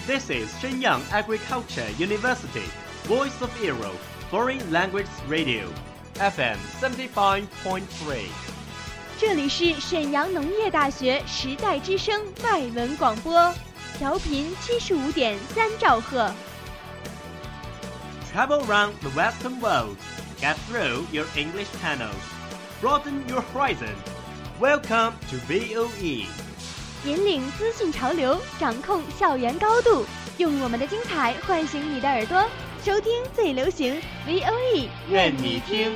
This is Shenyang Agriculture University, Voice of Europe, Foreign Language Radio, FM 75.3。 这里是沈阳农业大学时代之声外文广播，调频75.3兆赫。 Travel around the Western world, get through your English channels, broaden your horizon. Welcome to VOE. 引领资讯潮流，掌控校园高度，用我们的精彩唤醒你的耳朵，收听最流行 VOE， 愿你听。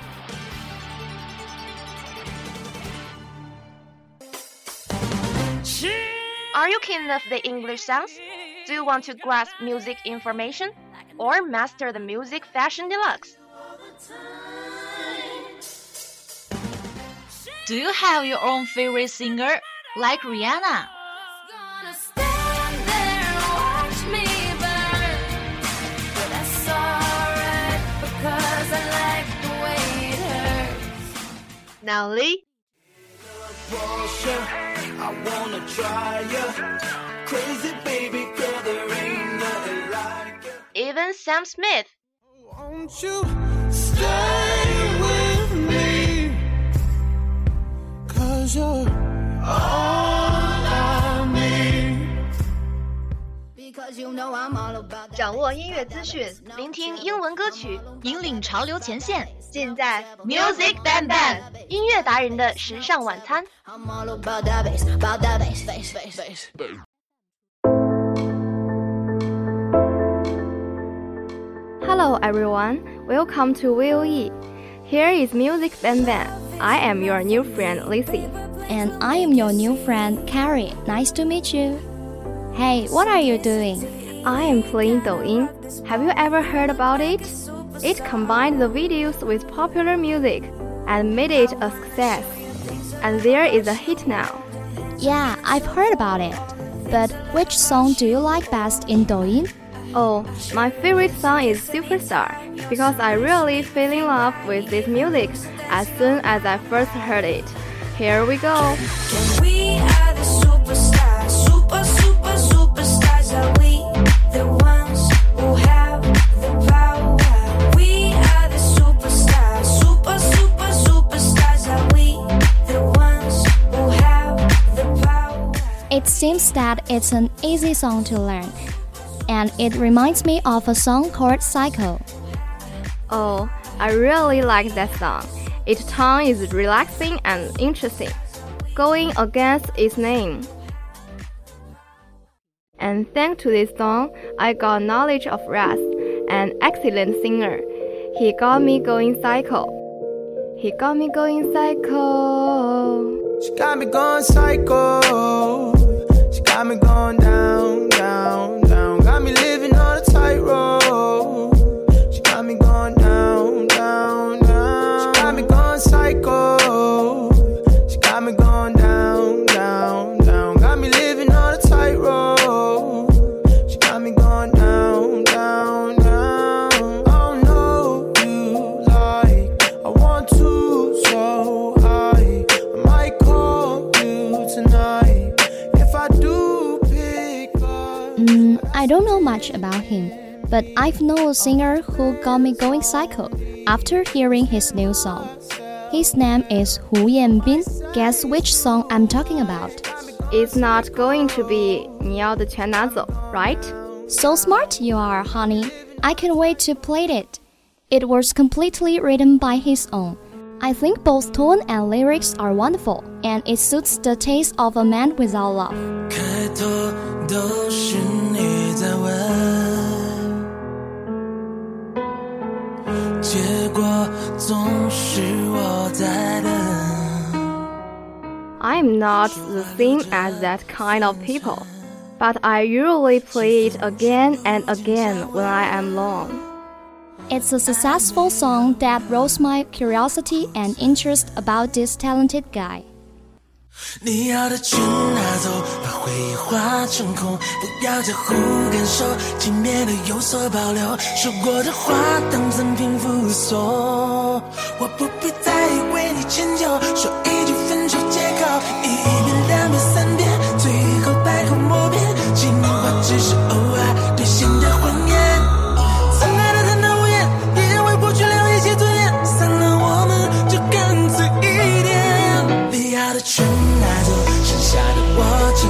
Are you keen of the English sounds? Do you want to grasp music information? Or master the music fashion deluxe? Do you have your own favorite singer, like Rihanna? Now Lee? I wanna try ya. Crazy baby girl, there ain't nothing like ya. Even Sam Smith. Won't you stay with me? 'Cause you're all I need. Because you know I'm all about that. 掌握音乐资讯，聆听英文歌曲， 引领潮流前线， 尽在 Music Bang Bang 音乐达人的时尚晚餐。 I'm all about that bass, about that bass, bass, bass, bass. Hello everyone, welcome to VOE. Here is Music Bang Bang. I am your new friend Lizzie. And I am your new friend Carrie. Nice to meet you. Hey, what are you doing? I am playing Douyin. Have you ever heard about it? It combined the videos with popular music and made it a success. And there is a hit now. Yeah, I've heard about it. But which song do you like best in Douyin? Oh, my favorite song is Superstar because I really fell in love with this music as soon as I first heard it. Here we go. We are the superstars, superstars. Are we the ones who have the power? We are the superstars, superstars. Are we the ones who have the power? It seems that it's an easy song to learn. And it reminds me of a song called Psycho. Oh, I really like that song. Its tone is relaxing and interesting, going against its name. And thanks to this song, I got knowledge of Raz, an excellent singer. He got me going psycho. He got me going psycho. She got me going psycho. She got me going down, down, down. Got me living on a tightrope. She got me going down, down, down. She got me going psycho. She got me going down, down, down. Got me living on a tightrope. She got me going down, down, down. Oh no, you like I want to, so I might call you tonight if I do pick up. I don't know much about him, but I've known a singer who got me going psycho after hearing his new song. His name is Hu Yanbin. Guess which song I'm talking about? It's not going to be 你要的全拿走, right? So smart you are, honey. I can't wait to play it. It was completely written by his own. I think both tone and lyrics are wonderful, and it suits the taste of a man without love. 开头都是你在问，结果总是我在等。 I'm not the same as that kind of people, but I usually play it again and again when I am alone. It's a successful song that rose my curiosity and interest about this talented guy. 你要的全拿走，把回忆化成空，不要在乎感受，轻蔑的有所保留，说过的话当赠品附送，我不必再为你迁就，说一句分手借口，一遍两遍三遍，最后百口莫辩，情话只是偶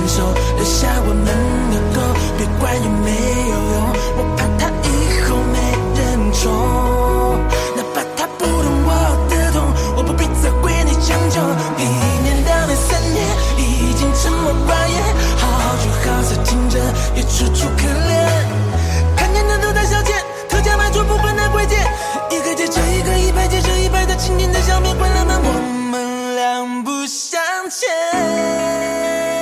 手，留下我们的狗，别管有没有用，我怕他以后没人宠，哪怕他不懂我的痛，我不必责怪你将就。1年、2年、3年，已经沉默寡言，好聚好散，听着也楚楚可怜。看见的都在消遣，特价卖出不换的贵贱，一个接着一个，100接着100的青年在消灭，关了门，我们两不相欠。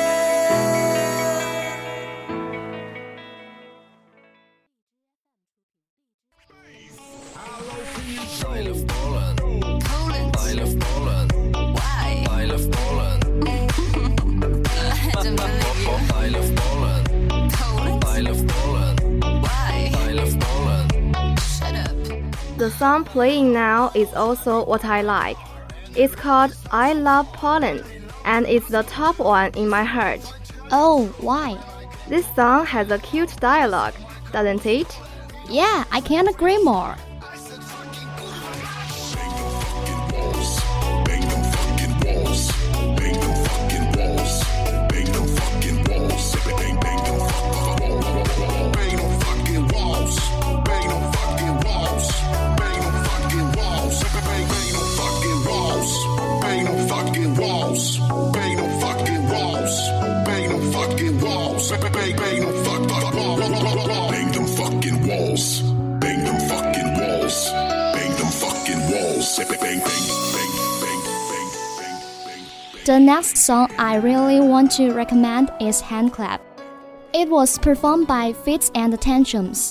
The song playing now is also what I like. It's called I Love Poland, and it's the top one in my heart. Oh, why? This song has a cute dialogue, doesn't it? Yeah, I can't agree more. The next song I really want to recommend is Hand Clap. It was performed by Fits and Tantrums.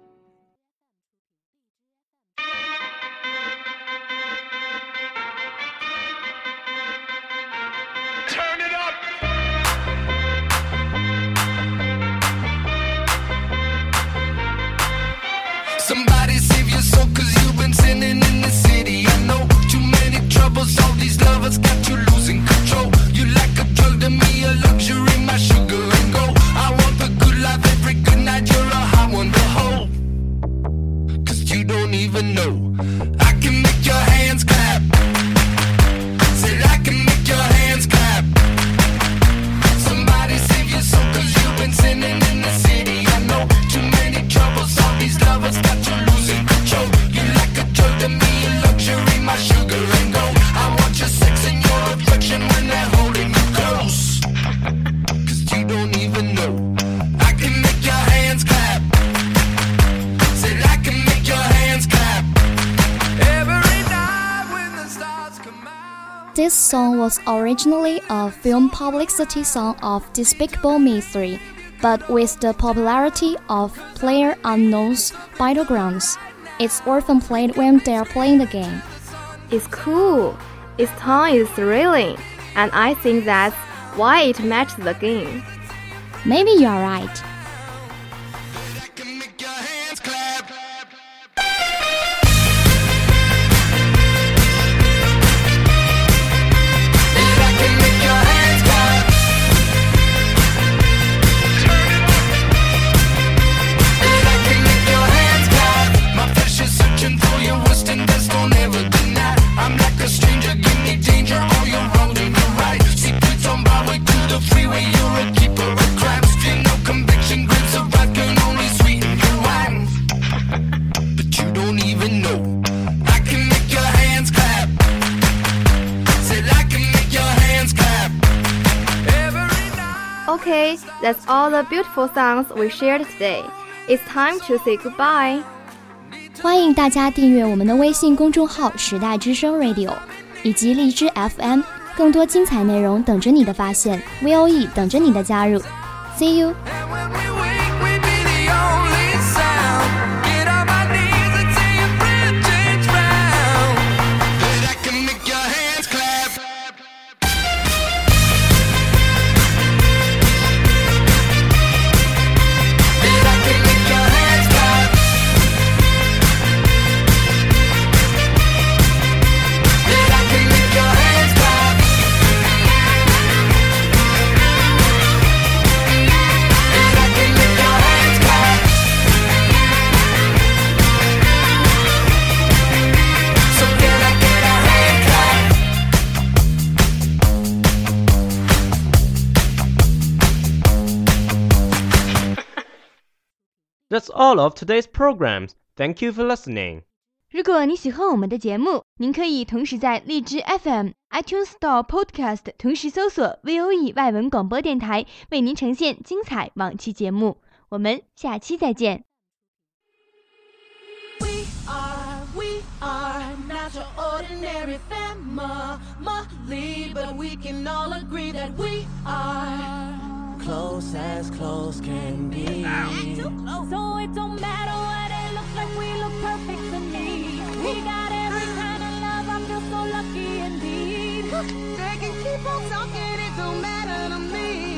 Somebody save your soul, cause you've been sinning in the city. I know too many troubles, all these lovers got you losing control. You like a drug to me, a luxury, my sugar and gold. I want the good life every good night, you're a hot one to hold. Cause you don't even know, I can make your hands clap. Said I can make your hands clap. Somebody save your soul, cause you've been sinning in the city. I know too many troubles, all these lovers got you losing control. You like a drug to me, a luxury, my sugar and gold. I want your sex and your affection when they're holding you close. Cause you don't even know, I can make your hands clap. Said I can make your hands clap. Every night when the stars come out. This song was originally a film publicity song of Despicable Me 3, but with the popularity of PlayerUnknown's Battlegrounds, it's often played when they are playing the game. It's cool. Its tone is thrilling, and I think that's why it matches the game. Maybe you are right. I can make your hands clap. I can make your hands clap. I can make your hands clap. My flesh is searching for your worst and best, don't ever deny. I'm like a stranger, give me danger, all you're wrong and you're right. Secrets on my way to the freeway, you're a keeper of crimes. Feel no conviction, grapes of wrath can only sweeten your wine. But you don't even know, I can make your hands clap. Said I can make your hands clap. Every night. Okay, that's all the beautiful songs we shared today. It's time to say goodbye. 欢迎大家订阅我们的微信公众号时代之声 Radio 以及荔枝 FM， 更多精彩内容等着你的发现 ，VOE 等着你的加入。See you。 I can That's all of today's programs. Thank you for listening. 如果你喜欢我们的节目，您可以同时在荔枝 FM、iTunes Store Podcast 同时搜索 VOE 外文广播电台，为您呈现精彩往期节目。我们下期再见。 We are not your ordinary family, but we can all agree that we are close as close can be. So it don't matter what it looks like, we look perfect to me. We got every kind of love, I feel so lucky indeed. They can keep on talking, it don't matter to me.